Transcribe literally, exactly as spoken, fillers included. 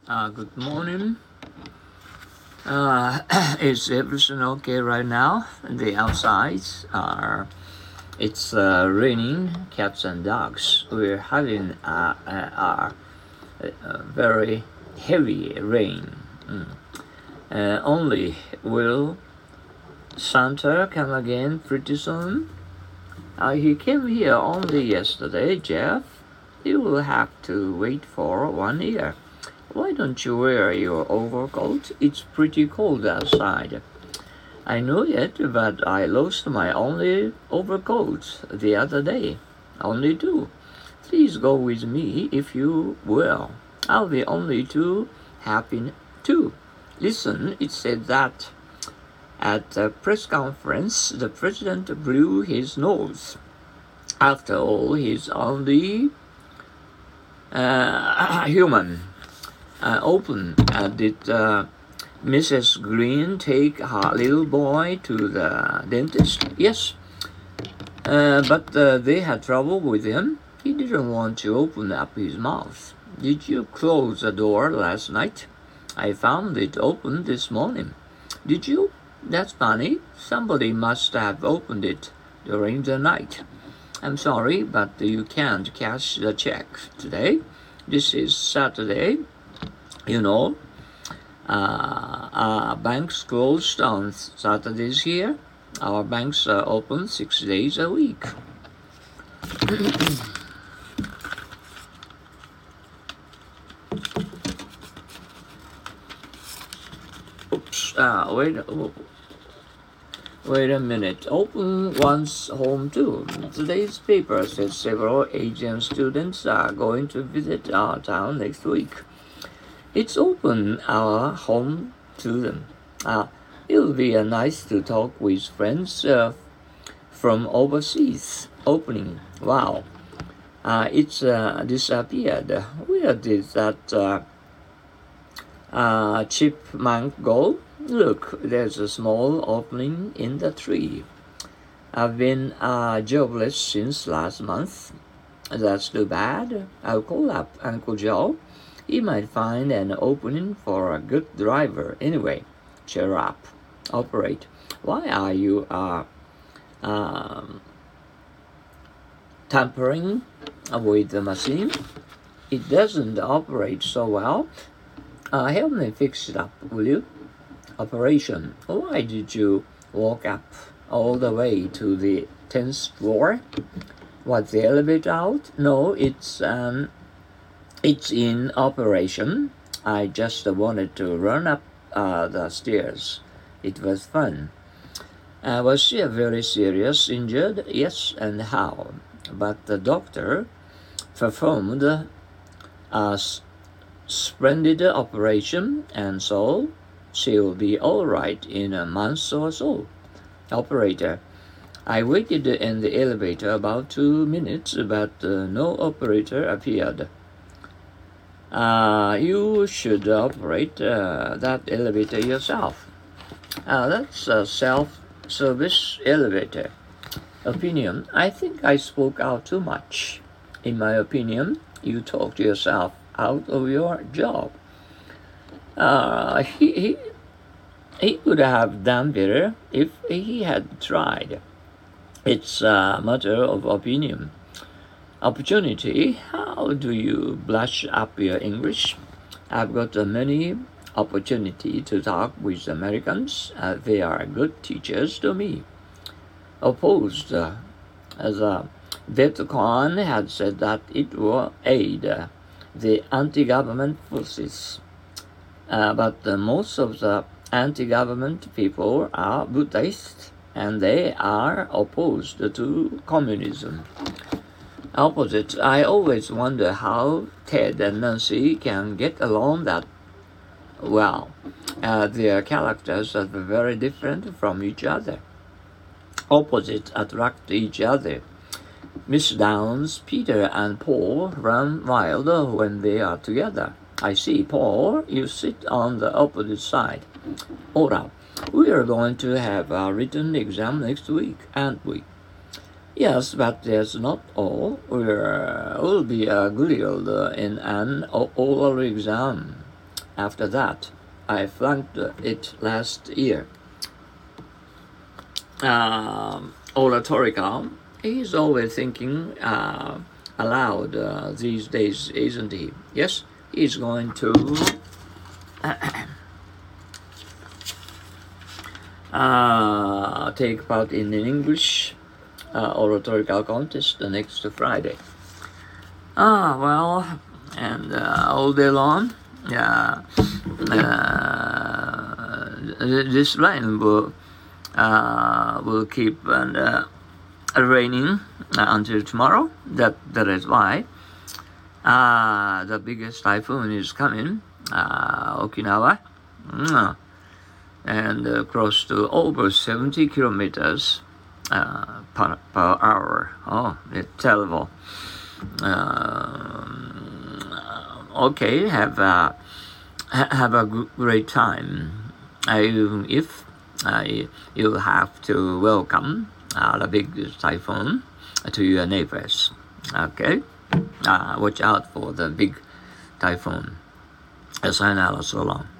Uh, good morning. Uh, is everything okay right now? The outsides are. It's uh, raining cats and dogs. We're having a, a, a, a very heavy rain. Mm. Uh, only will Santa come again pretty soon? Uh, he came here only yesterday, Jeff. You will have to wait for one year. Why don't you wear your overcoat? It's pretty cold outside. I know it, but I lost my only overcoat the other day. Only two. Please go with me if you will. I'll be only too happy too. Listen, it said that at the press conference, the president blew his nose. After all, he's only uh, human. Uh, open. Uh, did uh, Missus Green take her little boy to the dentist? Yes. Uh, but uh, they had trouble with him. He didn't want to open up his mouth. Did you close the door last night? I found it open this morning. Did you? That's funny. Somebody must have opened it during the night. I'm sorry, but you can't cash the check today. This is Saturday. You know, uh, our banks closed on Saturdays here. Our banks are open six days a week. Oops, uh, wait, oh, wait a minute. Open one's home too. Today's paper says several Asian students are going to visit our town next week. It's open our home to them. Uh, it'll be uh, nice to talk with friends uh, from overseas. Opening. Wow. Uh, it's uh, disappeared. Where did that uh, uh, chipmunk go? Look, there's a small opening in the tree. I've been uh, jobless since last month. That's too bad. I'll call up Uncle Joe. He might find an opening for a good driver. Anyway, cheer up. Operate. Why are you uh, um, tampering with the machine? It doesn't operate so well. Uh, help me fix it up, will you? Operation. Why did you walk up all the way to the tenth floor? Was the elevator out? No, it's um. It's in operation. I just wanted to run up uh, the stairs. It was fun. Uh, was she very serious injured? Yes, and how? But the doctor performed a splendid operation, and so she'll be all right in a month or so. Operator. I waited in the elevator about two minutes, but uh, no operator appeared. Uh, you should operate uh, that elevator yourself. Uh, that's a self-service elevator. Opinion. I think I spoke out too much. In my opinion, you talked yourself out of your job. Uh, he, he, he could have done better if he had tried. It's a matter of opinion. Opportunity. How do you brush up your English? I've got uh, many opportunity to talk with Americans. Uh, they are good teachers to me. Opposed, uh, as uh, Vietcong had said that it will aid uh, the anti-government forces. Uh, but uh, most of the anti-government people are Buddhists, and they are opposed to communism. Opposite. I always wonder how Ted and Nancy can get along that well. Uh, their characters are very different from each other. Opposites attract each other. Miss Downs, Peter and Paul run wild when they are together. I see. Paul, you sit on the opposite side. Ora, we are going to have a written exam next week, aren't we? Yes, but that's not all. We're, we'll be uh, grilled in an oral exam. after that. I flunked it last year. Um, oratorical. He's always thinking uh, aloud uh, these days, isn't he? Yes, he's going to uh, take part in an English uh, oratorical contest the next Friday. Ah, well, and uh, all day long, yeah, uh, this rain will uh, will keep and uh, raining uh, until tomorrow. That that is why uh, the biggest typhoon is coming, uh, Okinawa, mm, and uh, close to over seventy kilometers uh, per, per hour. Oh, it's terrible. Um, okay, have a have a great time. I, if uh, you have to welcome uh, the big typhoon to your neighbors. Okay, uh, watch out for the big typhoon. Sayonara, so long.